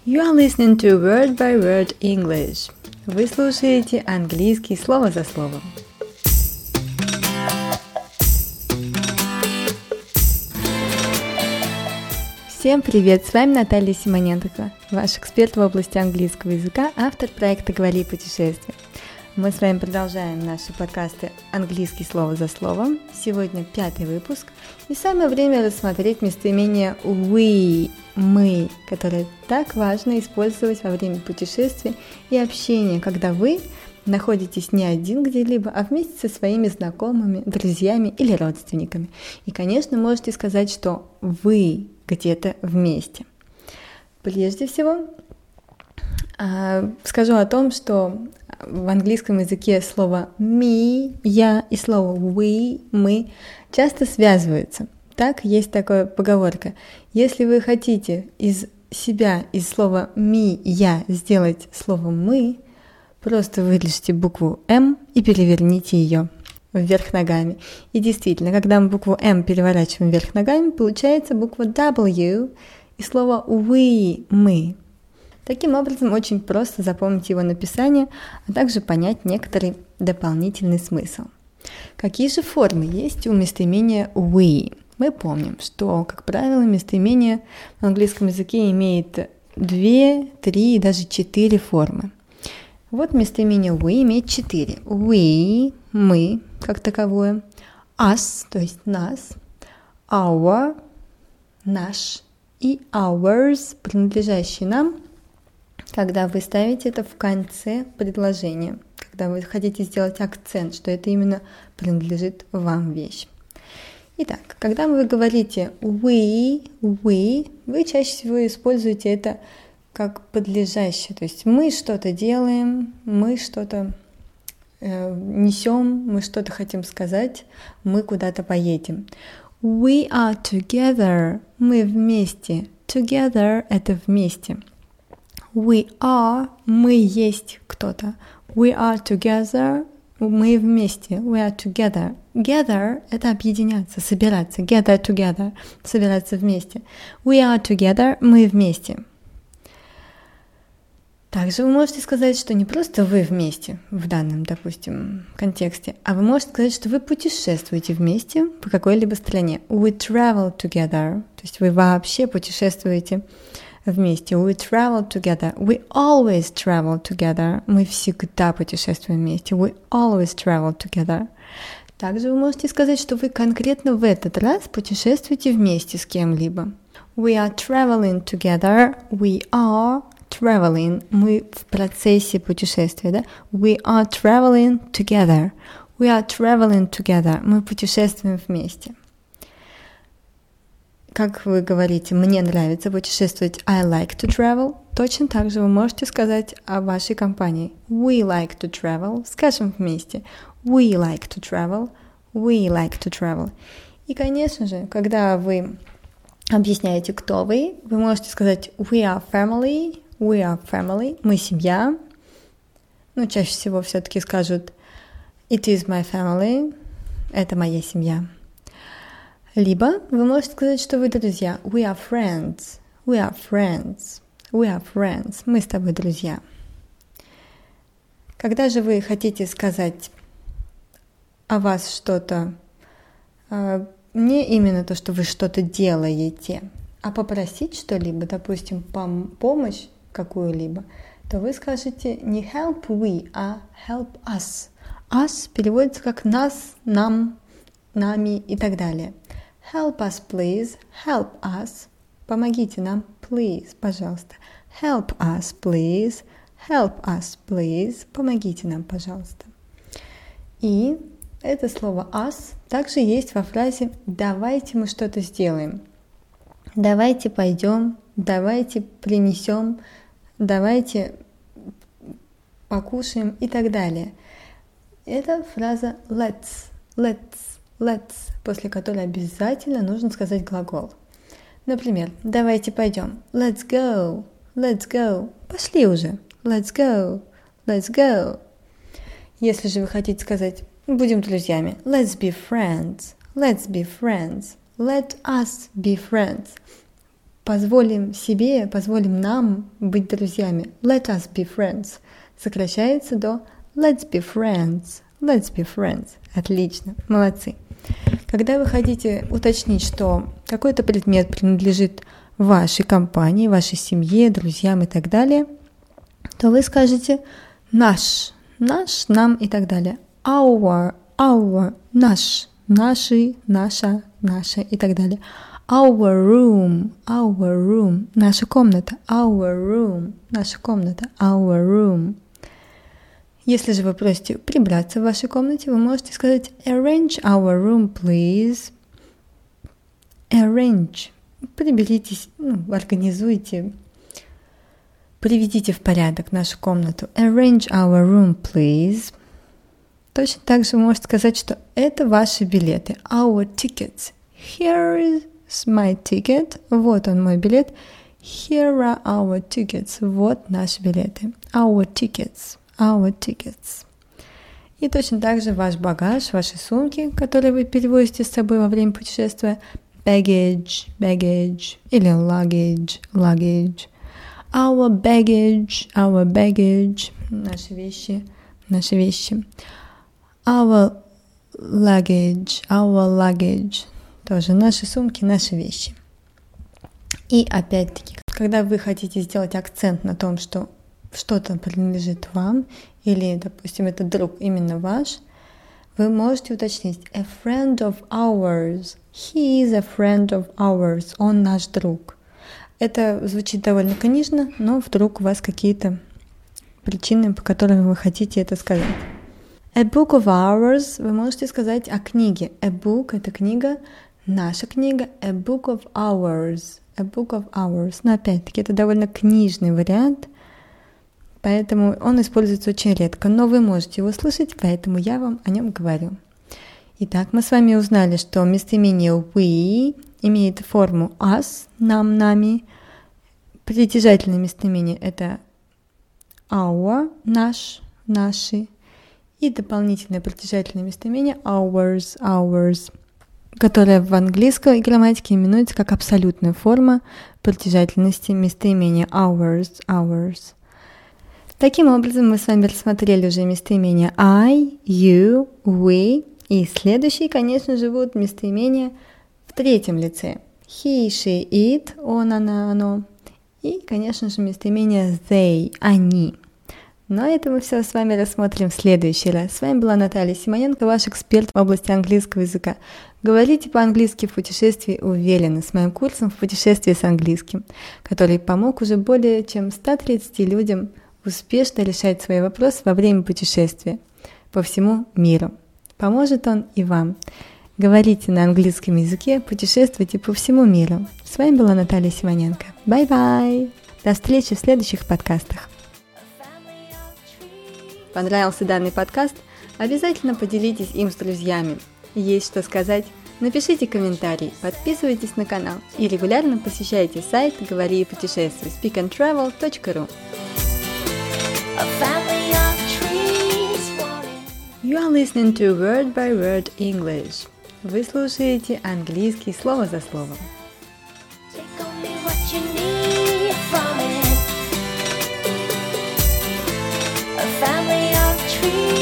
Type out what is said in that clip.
You are listening to Word by Word English. Вы слушаете английский слово за словом. Всем привет! С вами Наталья Симоненко, ваш эксперт в области английского языка, автор проекта «Говори путешествия». Мы с вами продолжаем наши подкасты «Английский слово за словом». Сегодня 5-й выпуск, и самое время рассмотреть местоимение we, мы, которое так важно использовать во время путешествий и общения, когда вы находитесь не один где-либо, а вместе со своими знакомыми, друзьями или родственниками. И, конечно, можете сказать, что вы где-то вместе. Прежде всего, скажу о том, что в английском языке слово me, я и слово we, мы часто связываются. Так, есть такая поговорка. Если вы хотите из себя, из слова me, я, сделать слово мы, просто вырежьте букву M и переверните ее вверх ногами. И действительно, когда мы букву M переворачиваем вверх ногами, получается буква W и слово we, мы. Таким образом, очень просто запомнить его написание, а также понять некоторый дополнительный смысл. Какие же формы есть у местоимения we? Мы помним, что, как правило, местоимение в английском языке имеет 2, 3 и даже 4 формы. Вот местоимение we имеет 4. We, мы, как таковое, us, то есть нас, our, наш, и ours, принадлежащий нам, когда вы ставите это в конце предложения, когда вы хотите сделать акцент, что это именно принадлежит вам вещь. Итак, когда вы говорите we, вы чаще всего используете это как подлежащее, то есть мы что-то делаем, мы что-то несем, мы что-то хотим сказать, мы куда-то поедем. We are together, мы вместе, together это вместе. We are, мы есть кто-то. We are together, мы вместе. We are together. Gather – это объединяться, собираться. Gather together – собираться вместе. We are together, мы вместе. Также вы можете сказать, что не просто вы вместе в данном, допустим, контексте, а вы можете сказать, что вы путешествуете вместе по какой-либо стране. We travel together, то есть вы вообще путешествуете вместе. We travel together. We always travel together. Мы всегда путешествуем вместе. We always travel together. Также вы можете сказать, что вы конкретно в этот раз путешествуете вместе с кем-либо. We are traveling together. We are traveling. Мы в процессе путешествия, да? We are traveling together. We are traveling together. Мы путешествуем вместе. Как вы говорите, мне нравится путешествовать, I like to travel, точно так же вы можете сказать о вашей компании. We like to travel, скажем вместе. We like to travel, we like to travel. И, конечно же, когда вы объясняете, кто вы можете сказать we are family, мы семья. Чаще всего все-таки скажут it is my family, это моя семья. Либо вы можете сказать, что вы друзья. We are friends. Мы с тобой друзья. Когда же вы хотите сказать о вас что-то, не именно то, что вы что-то делаете, а попросить что-либо, допустим, помощь какую-либо, то вы скажете не help we, а help us. Us переводится как нас, нам, нами и так далее. Help us, please. Help us. Помогите нам, please, пожалуйста. Help us, please. Help us, please. Помогите нам, пожалуйста. И это слово us также есть во фразе «давайте мы что-то сделаем». Давайте пойдем, давайте принесем, давайте покушаем и так далее. Это фраза let's, после которой обязательно нужно сказать глагол. Например, давайте пойдем. Let's go. Пошли уже. Let's go. Если же вы хотите сказать, будем друзьями. Let's be friends. Let us be friends. позволим себе, позволим нам быть друзьями. Let us be friends. Сокращается до let's be friends. Let's be friends. Отлично, молодцы. Когда вы хотите уточнить, что какой-то предмет принадлежит вашей компании, вашей семье, друзьям и так далее, то вы скажете наш, нам и так далее. Our, наш, наши, наша и так далее. Our room, наша комната. Our room, наша комната. Our room. Если же вы просите прибраться в вашей комнате, вы можете сказать arrange our room, please. Arrange. Приберитесь, организуйте, приведите в порядок нашу комнату. Arrange our room, please. Точно так же вы можете сказать, что это ваши билеты. Our tickets. Here is my ticket. Вот он, мой билет. Here are our tickets. Вот наши билеты. Our tickets. Our tickets. И точно так же ваш багаж, ваши сумки, которые вы перевозите с собой во время путешествия. Baggage или luggage. Our baggage. Наши вещи. Our luggage. Тоже наши сумки, наши вещи. И опять-таки, когда вы хотите сделать акцент на том, что что-то принадлежит вам, или, допустим, это друг именно ваш, вы можете уточнить a friend of ours. He is a friend of ours. Он наш друг. Это звучит довольно книжно, но вдруг у вас какие-то причины, по которым вы хотите это сказать. A book of ours. Вы можете сказать о книге. A book — это книга, наша книга. A book of ours. A book of ours. Но опять-таки это довольно книжный вариант, поэтому он используется очень редко, но вы можете его слышать, поэтому я вам о нем говорю. Итак, мы с вами узнали, что местоимение we имеет форму us, нам, нами. Притяжательное местоимение — это our, наш, наши. И дополнительное притяжательное местоимение ours, которое в английской грамматике именуется как абсолютная форма притяжательности местоимения ours. Таким образом, мы с вами рассмотрели уже местоимения I, you, we, и следующие, конечно же, будут местоимения в третьем лице. He, she, it, он, она, оно. И, конечно же, местоимения they, они. Но это мы все с вами рассмотрим в следующий раз. С вами была Наталья Симоненко, ваш эксперт в области английского языка. Говорите по-английски в путешествии уверенно с моим курсом в путешествии с английским, который помог уже более чем 130 людям успешно решать свои вопросы во время путешествия по всему миру. Поможет он и вам. Говорите на английском языке, путешествуйте по всему миру. С вами была Наталья Симоненко. Бай-бай! До встречи в следующих подкастах. Понравился данный подкаст? Обязательно поделитесь им с друзьями. Есть что сказать? Напишите комментарий, подписывайтесь на канал и регулярно посещайте сайт «Говори и путешествуй» speakandtravel.ru. You are listening to Word by Word English. Вы слушаете английский слово за словом. Take only what you need from it. A family of trees.